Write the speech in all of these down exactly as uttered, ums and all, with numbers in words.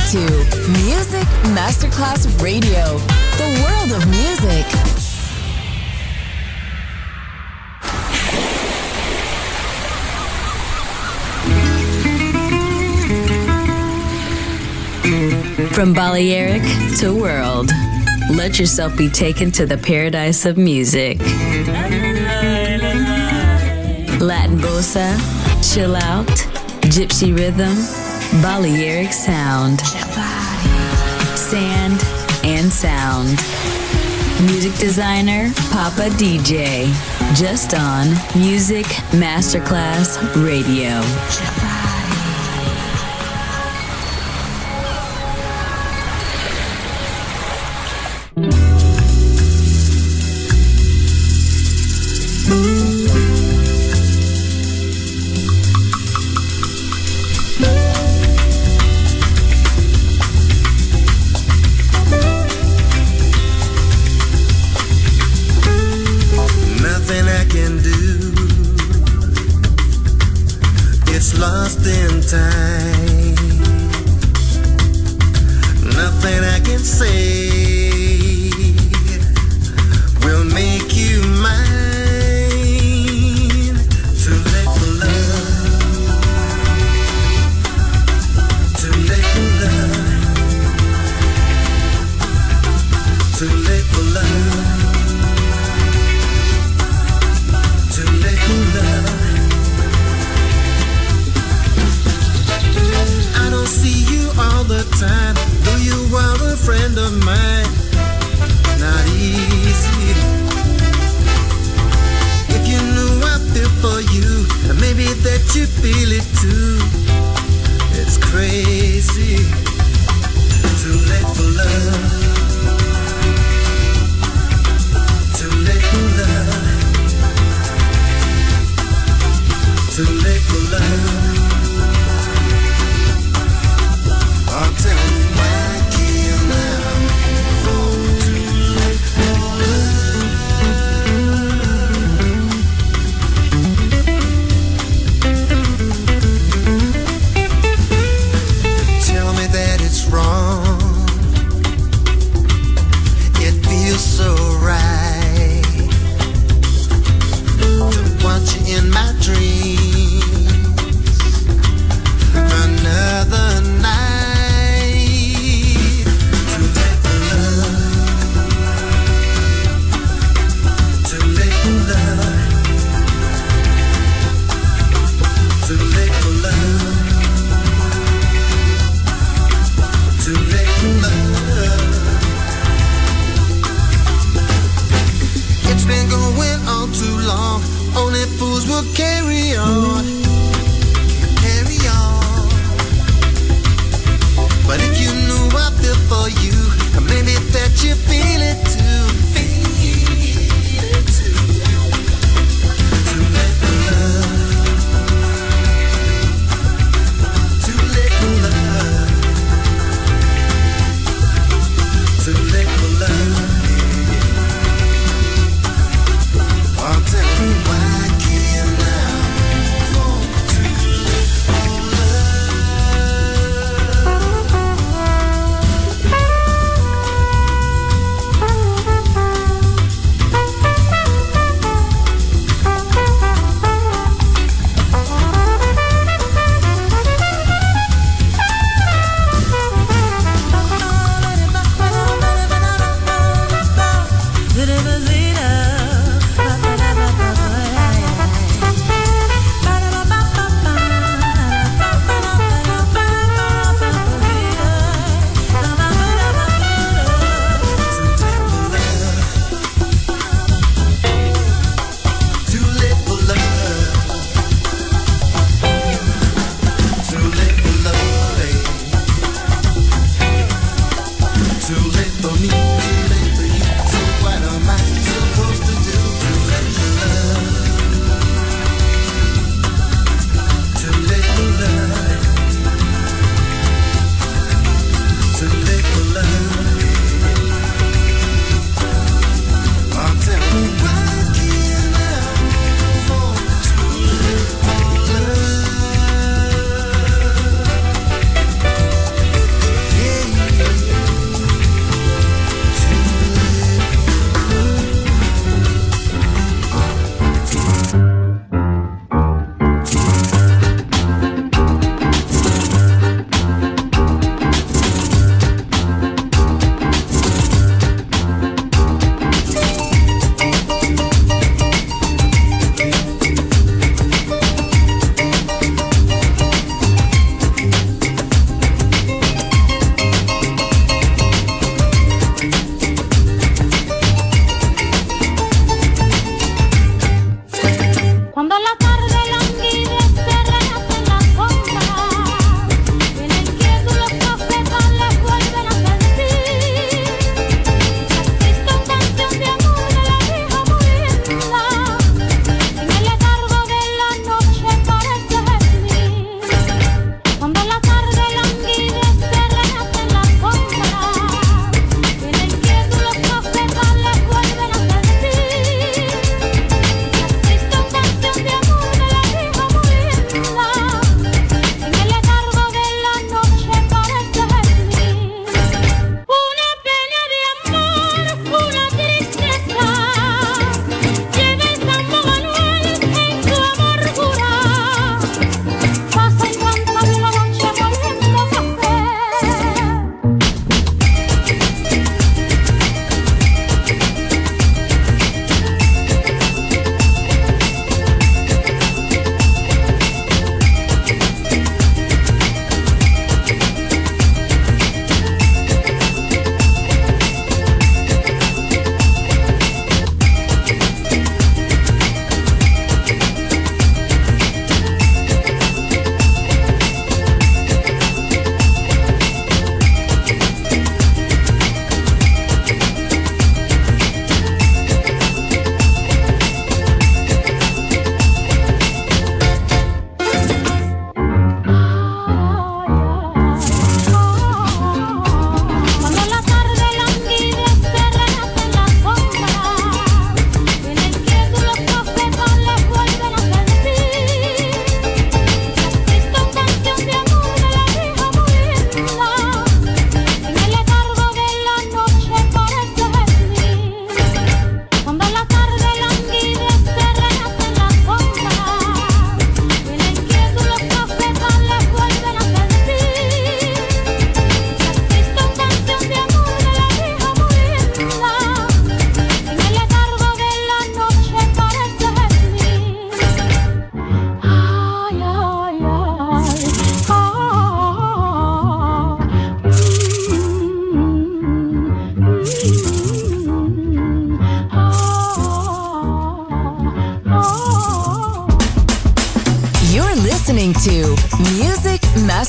to Music Masterclass Radio, the world of music. From Balearic to world, let yourself be taken to the paradise of music. Latin bossa, chill out, gypsy rhythm, Balearic sound, sand and sound. Music designer, Papa D J, just on Music Masterclass Radio.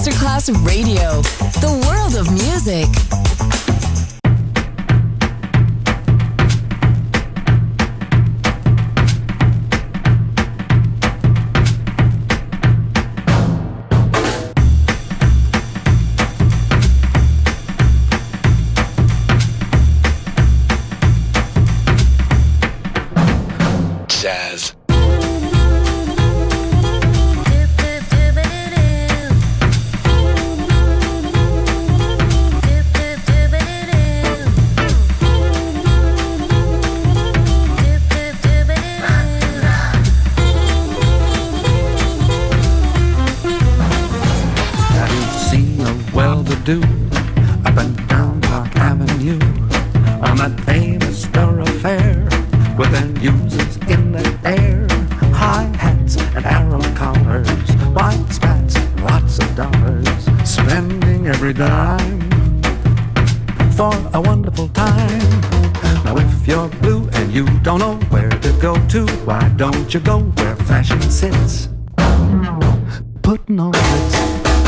Masterclass Radio, the world of music. Jazz. Do up and down Park Avenue on that famous thoroughfare with end users in the air, high hats and arrow collars, white spats, lots of dollars, spending every dime for a wonderful time. Now if you're blue and you don't know where to go to, why don't you go where fashion sits, putting on Ritz.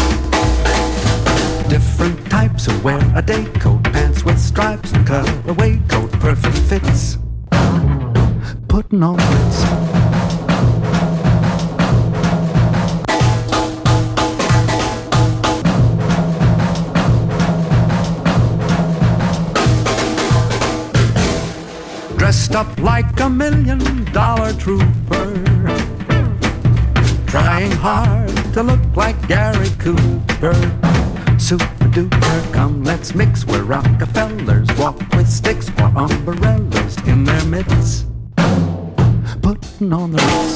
Different types who wear a day coat, pants with stripes and cutaway coat, perfect fits, putting on Ritz. Dressed up like a million dollar trooper, trying hard to look like Gary Cooper. Super duper, come let's mix where Rockefellers walk with sticks or umbrellas in their midst, putting on the Ritz.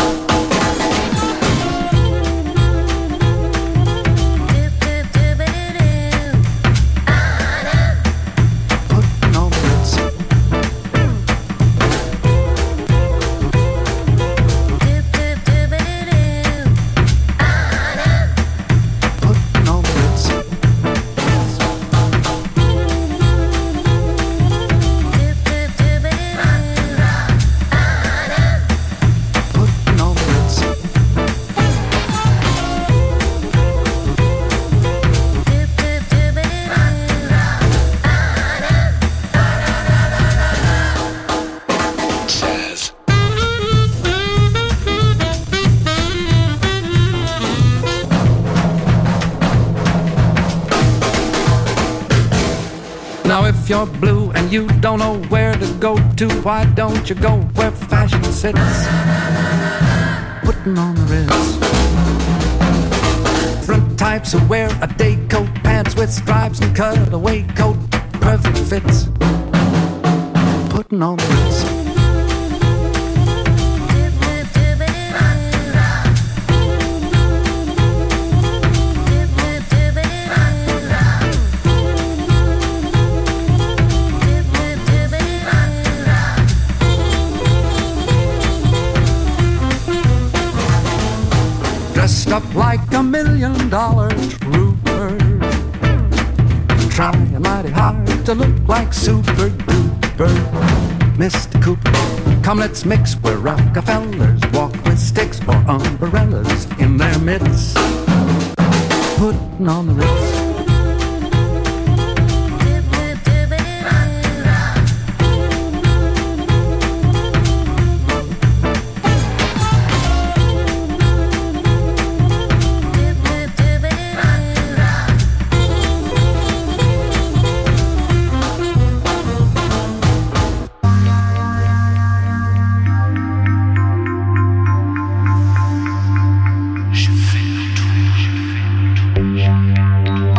Putting on the Ritz. If you're blue and you don't know where to go to, why don't you go where fashion sits, putting on the Ritz. Different types who wear a day coat, pants with stripes and cutaway coat, perfect fits, putting on the Ritz. Dressed up like a million dollar trooper, trying mighty hard to look like Super Duper. Mister Cooper, come let's mix where Rockefellers walk with sticks or umbrellas in their midst, putting on the Ritz. Je fais le tour, je fais le tour.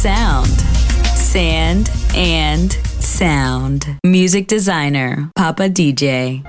sound. Sand and Sound. Music designer, Papa D J.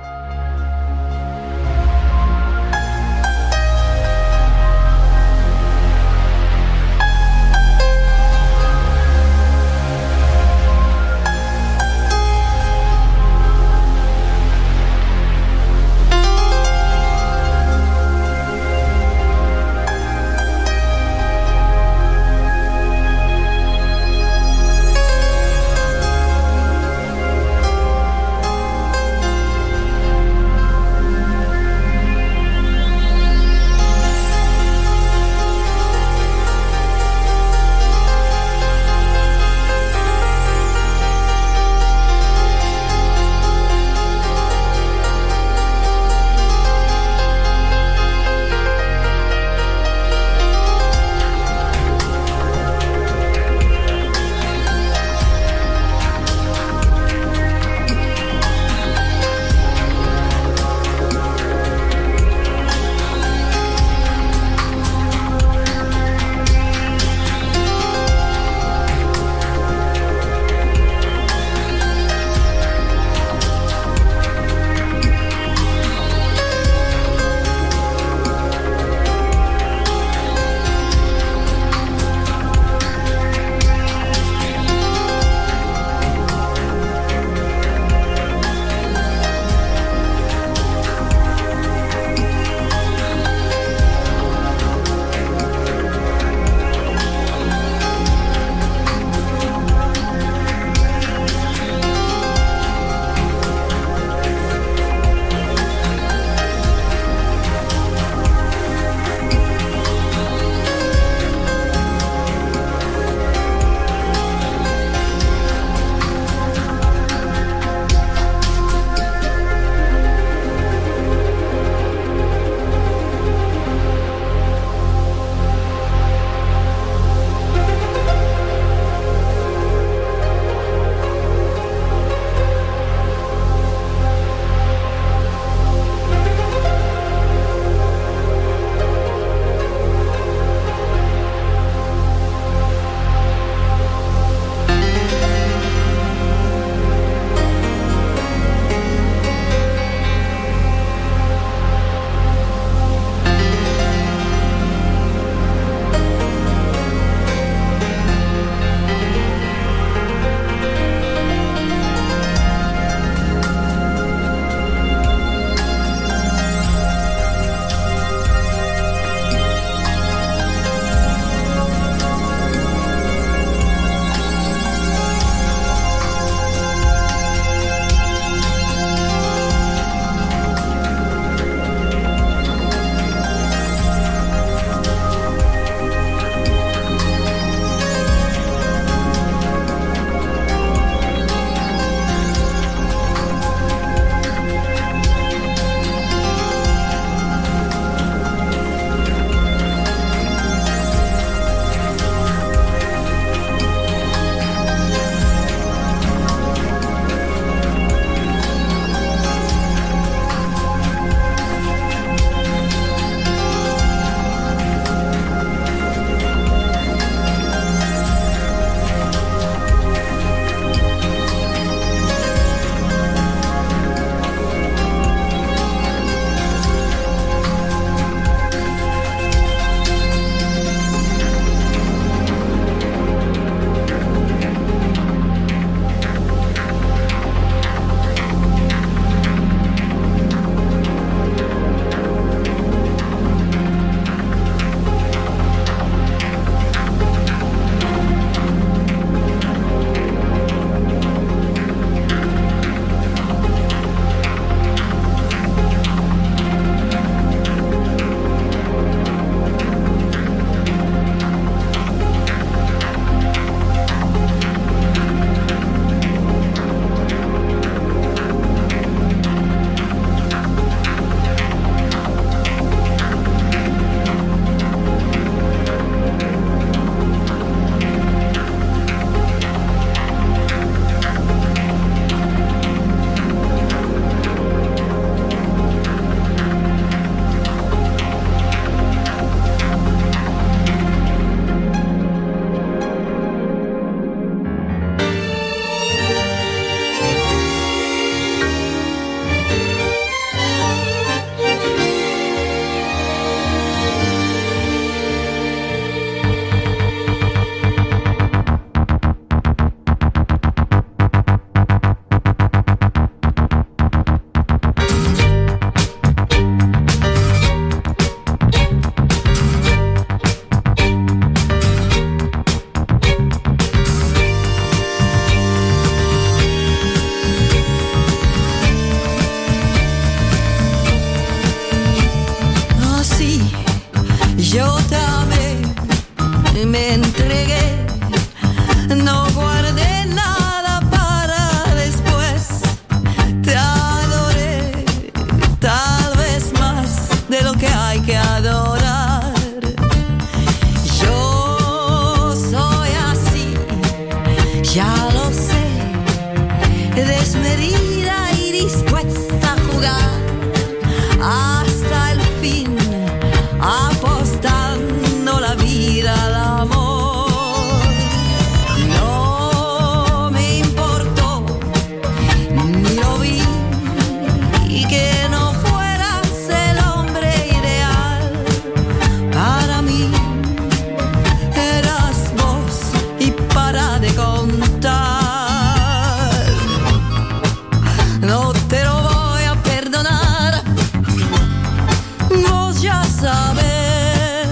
sabes.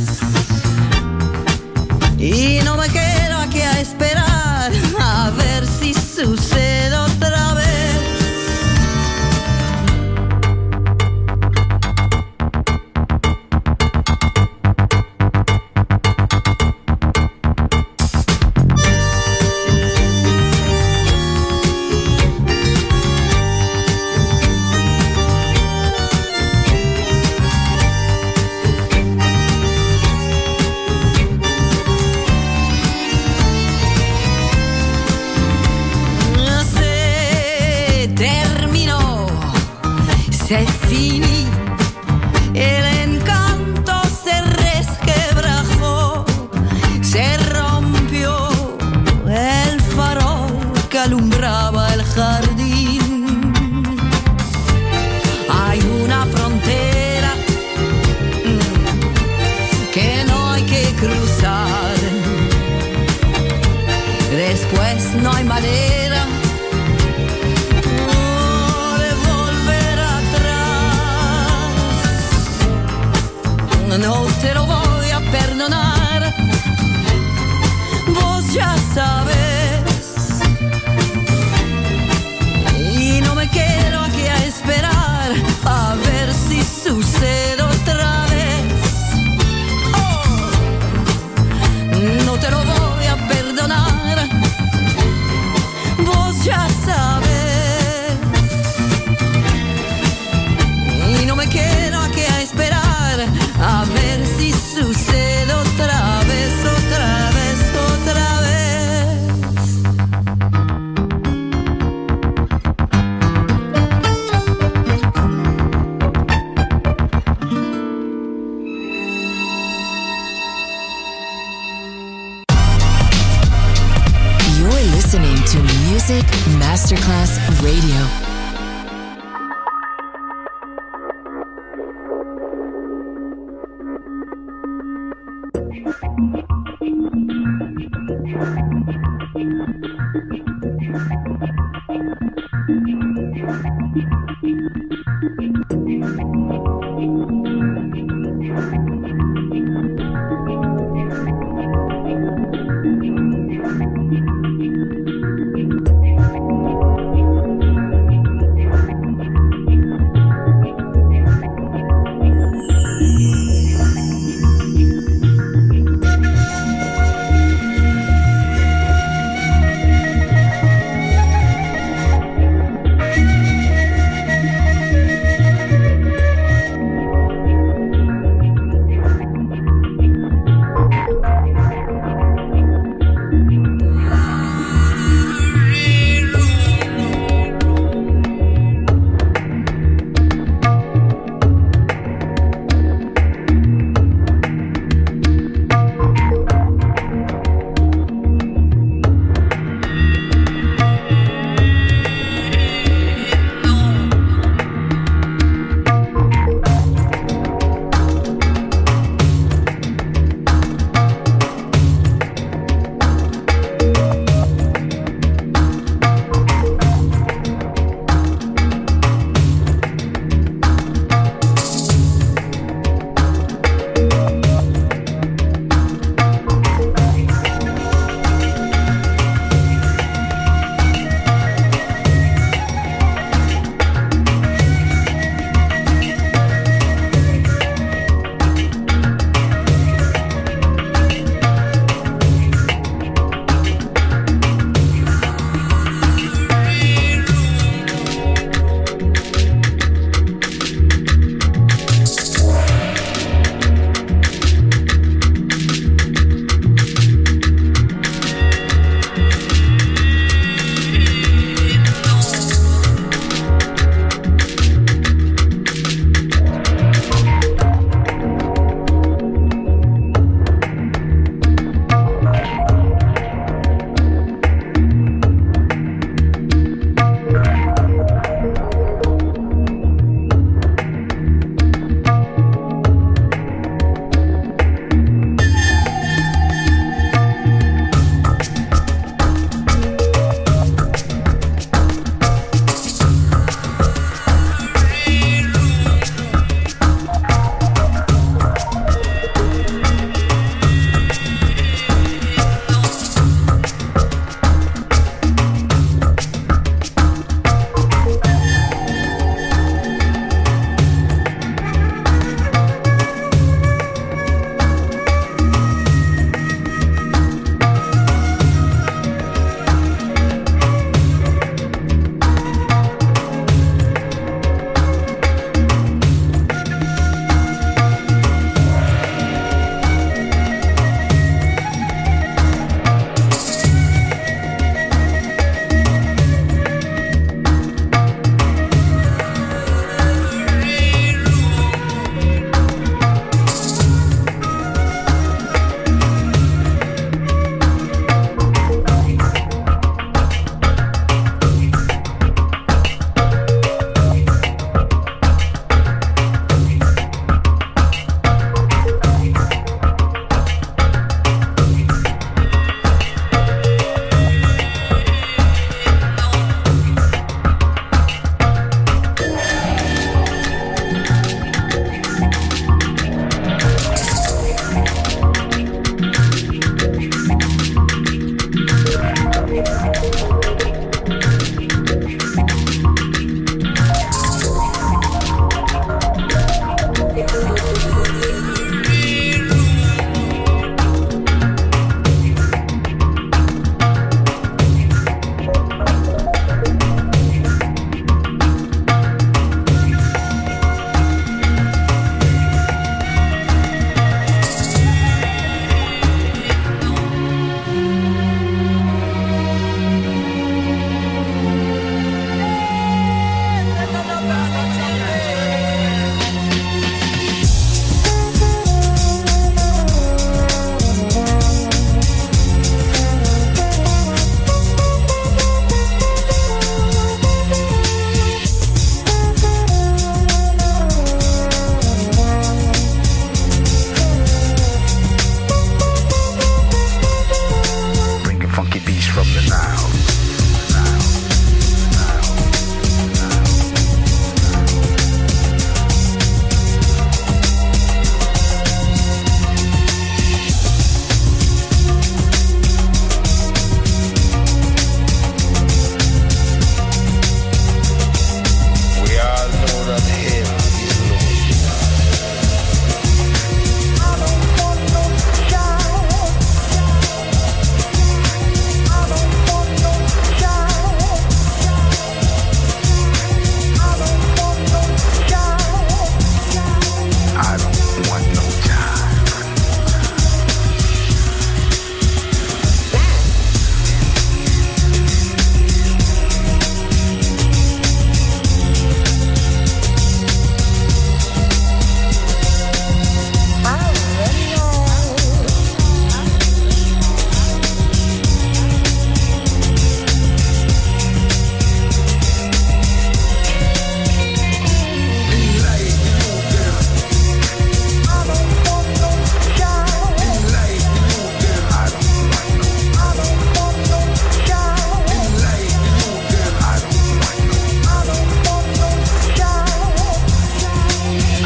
Y no me quedo aquí a esperar a ver si sucede otra vez. Se finí, el encanto se resquebrajó, se rompió el farol que alumbraba el jardín. Hay una frontera que no hay que cruzar, después no hay manera no te lo voy a perdonar, vos ya sabes. Y no me quedo aquí a esperar a ver si sucede otra vez. Oh, no te lo voy a perdonar, vos ya sabes. Y no me quedo aquí a esperar a ver si sucede otra vez, otra vez, otra vez. You're listening to Music Masterclass Radio.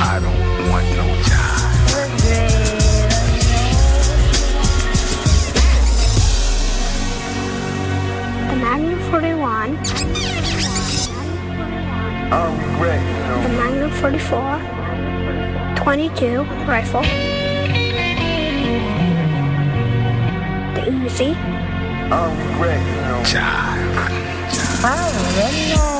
I don't want no jive. The Magnum forty-one. I'm ready. The Magnum forty-four. twenty-two rifle. The Uzi. I'm ready. Jive. Jive.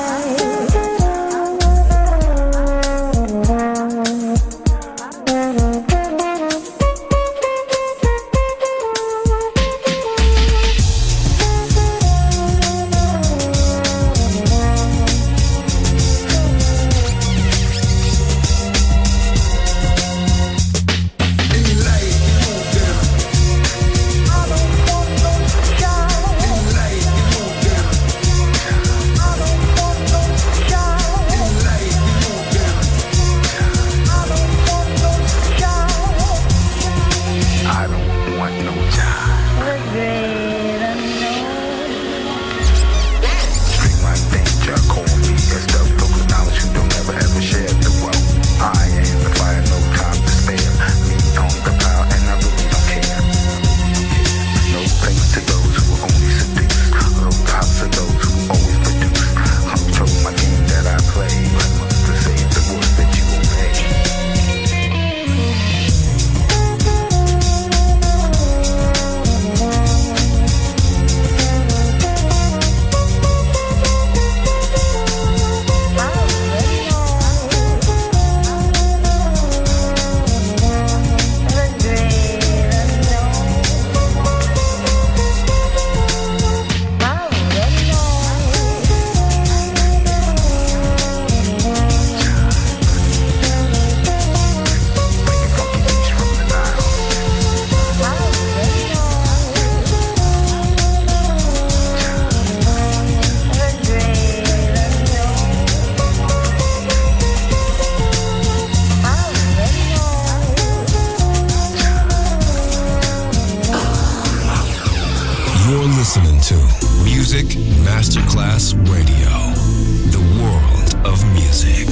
listening to Music Masterclass Radio, the world of music.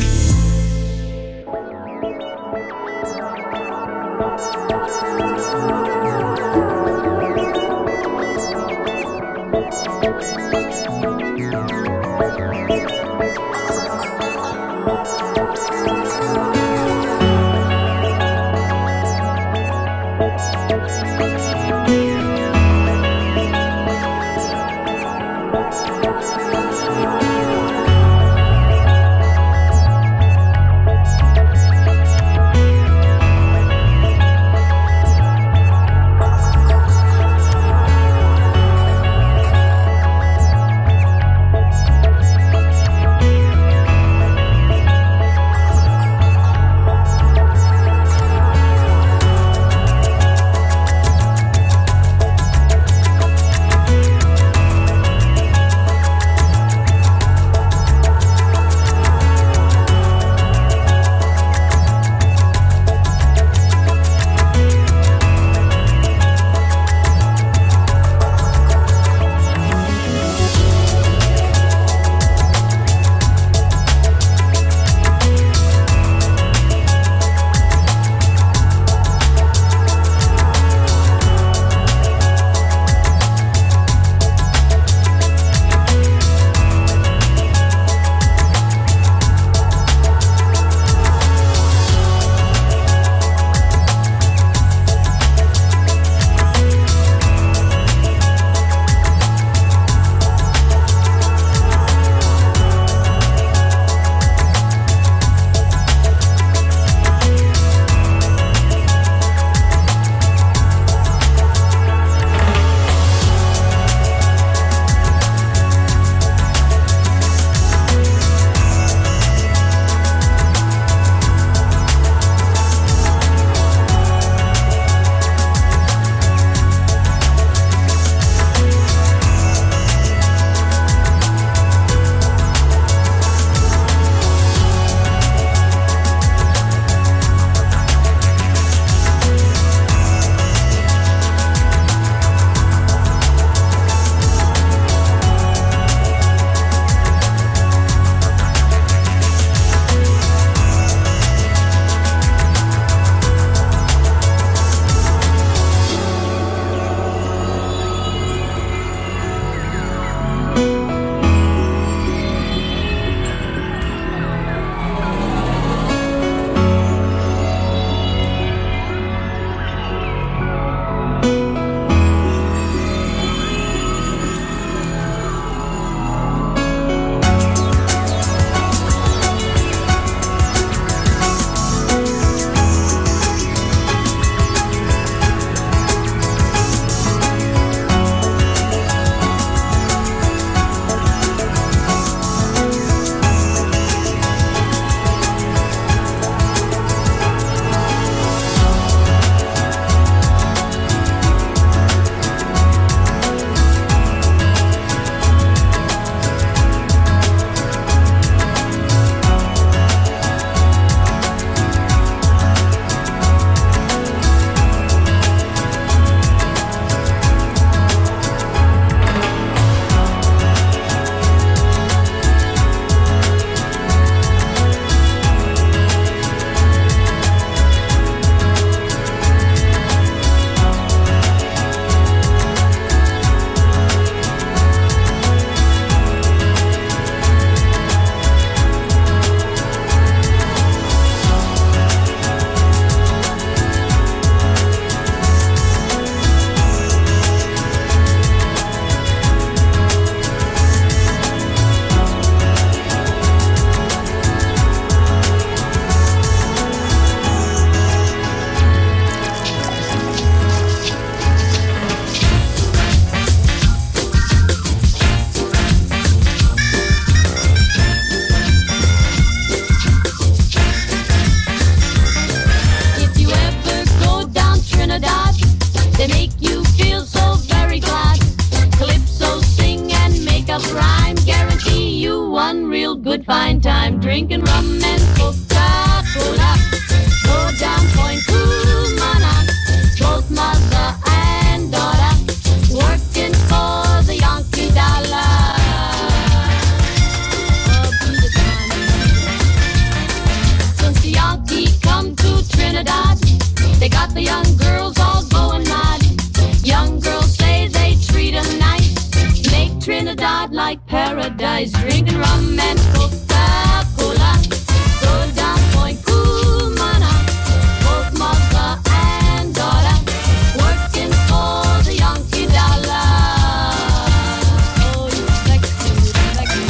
got the young girls all going mad. Young girls say they treat 'em nice, make Trinidad like paradise, drinking rum and Coca-Cola. Go down Point Cumana, both mother and daughter, working for the Yankee dollar. Oh, you sexy, sexy.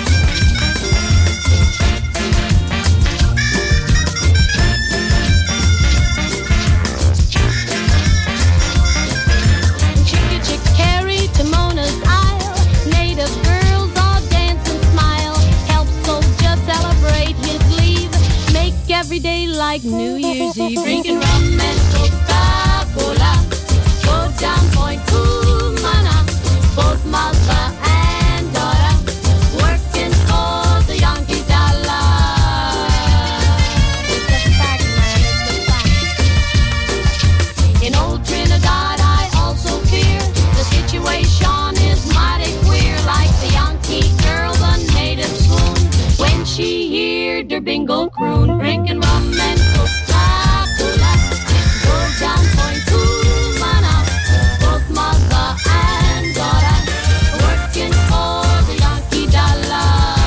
Chicky chick carry to Mona's Isle, native girls all dance and smile, help soldier celebrate his leave, make every day like New Year's Eve, drinking rum and Coca-Cola. Go down Point Cumana, both mother and daughter, working for the Yankee dollar. It's a fact, man, it's a fact. In old Trinidad I also fear the situation is mighty queer, like the Yankee girl, the native swoon when she heard her bingle croon, drinking rum and Coca-Cola. Go down Point Cumana, both mother and daughter, working for the Yankee dollar.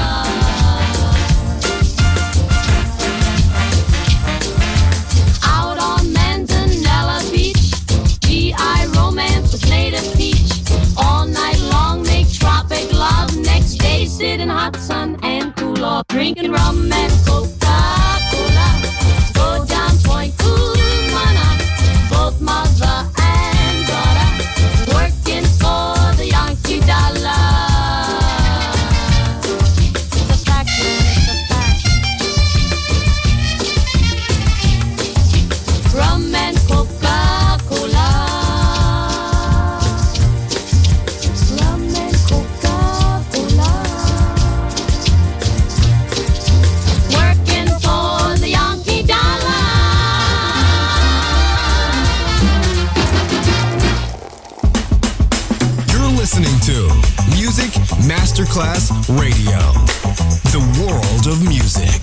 Out on Manzanella Beach, G I romance with native peach. All night long make tropic love, next day sit in hot sun and cool off, drinking rum and Coca-Cola. Go down Point Cumana, both mother and daughter, working for the Yankee dollar. It's a fact, man, it's a fact. Rum and Coca-Cola. Rum and Coca-Cola. Working for the Yankee dollar. You're listening to Music Masterclass Radio, the world of music.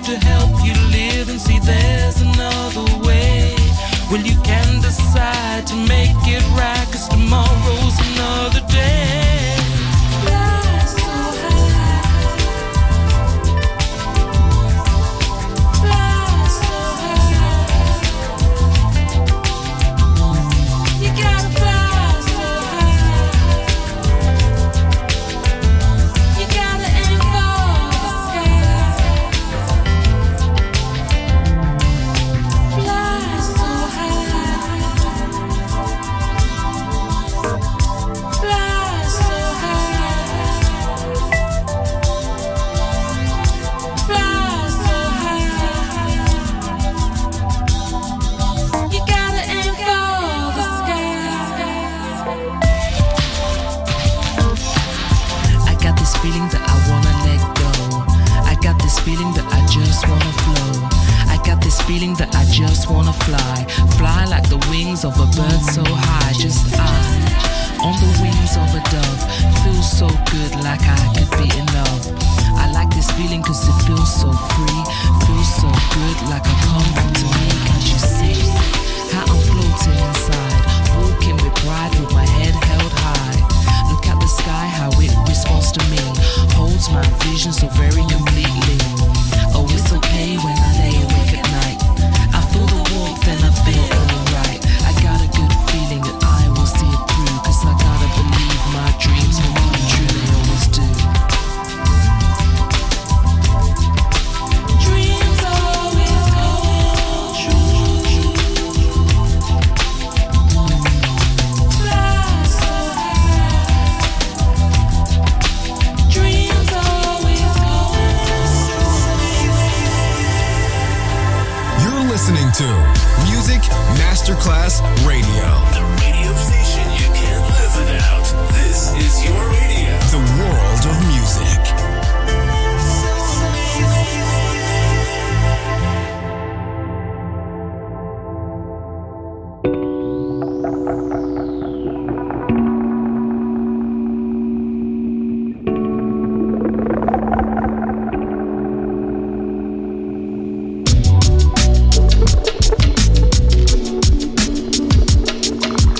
to help you live and see there's another way. Well, you can decide to make it right, 'cause tomorrow's another day. Fly so high, fly so high. You gotta fly so high. You gotta aim for the sky. Fly so high. Fly so high. Fly so high. You gotta aim for the sky. I got this feeling that I wanna let go. I got this feeling that I just wanna flow. I got this feeling that I just wanna fly. Fly like the wings of a bird so high. Just I, on the wings of a dove. Feels so good, like I could be in love. I like this feeling 'cause it feels so free. Feels so good, like I come back to me. Can't you see how I'm floating inside? Walking with pride with my head held high. Look at the sky, how it responds to me. Holds my vision so very completely. Oh, it's okay when I lay awake at night. I feel the warmth and I feel alright. I got a good feeling that I will see it through, 'cause I gotta believe my dreams will come true, they always do. Dreams always come true. Fly so high. Dreams always come true. You're listening to Music Masterclass Radio. The radio station you can't live without. This is your radio. The world of music.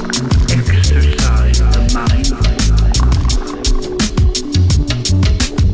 Exercise the mind.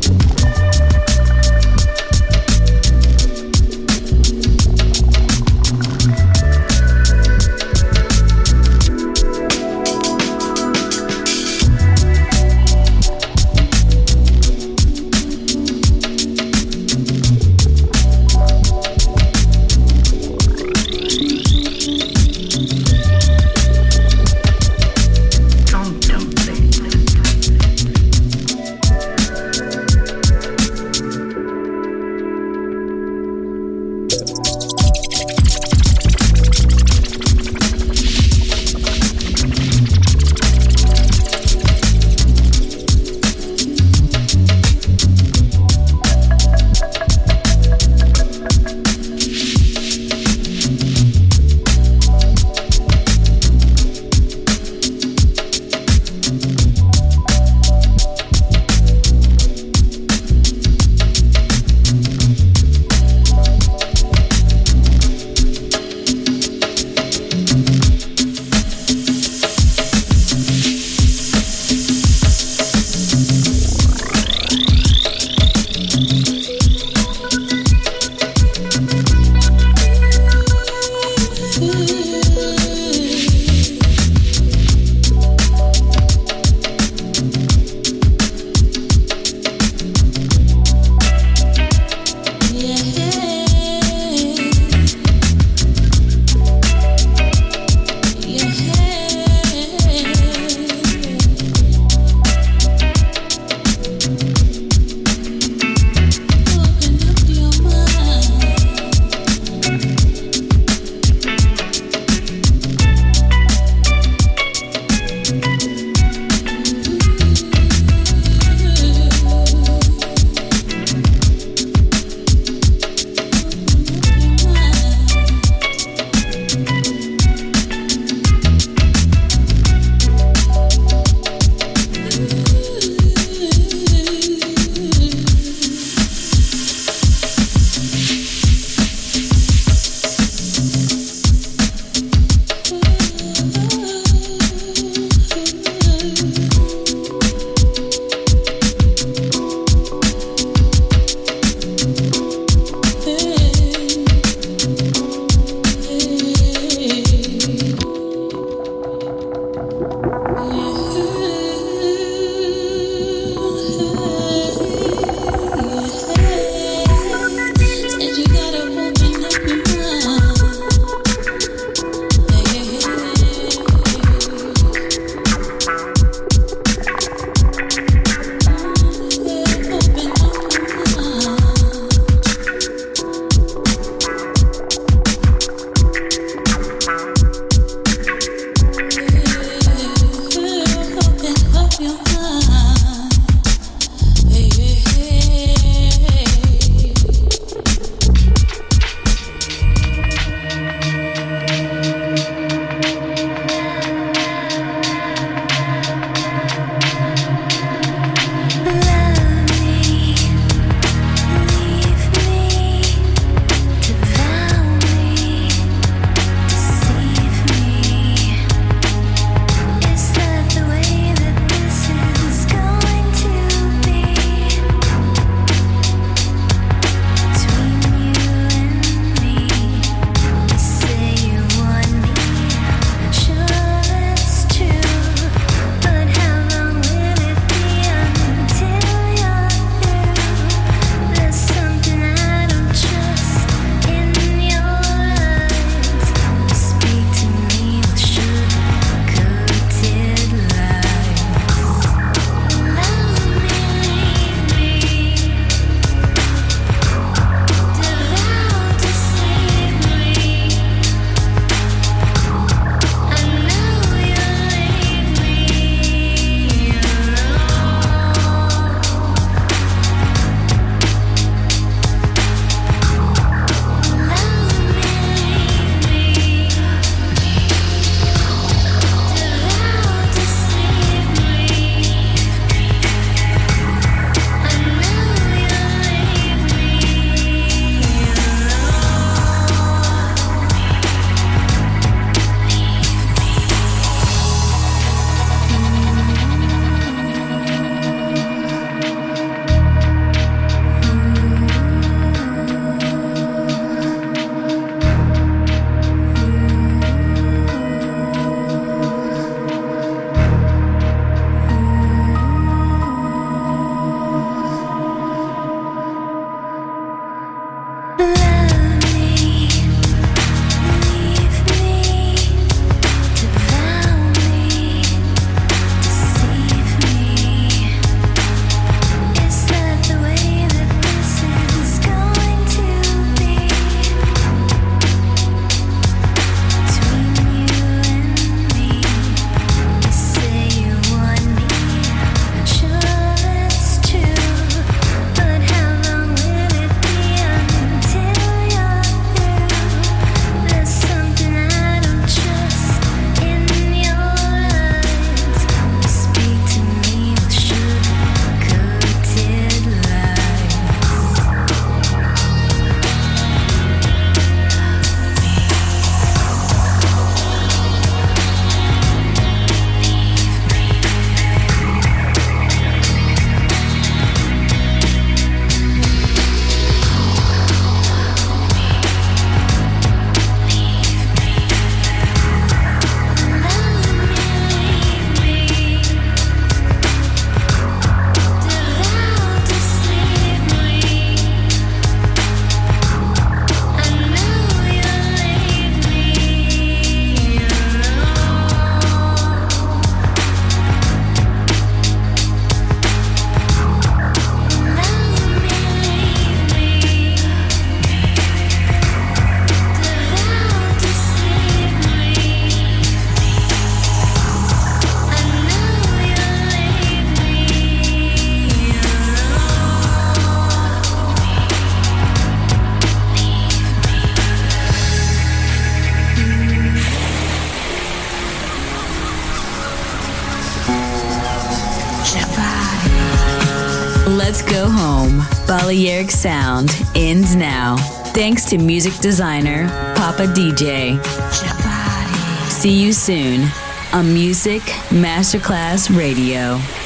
Let's go home. Balearic Sound ends now. Thanks to music designer Papa D J. See you soon on Music Masterclass Radio.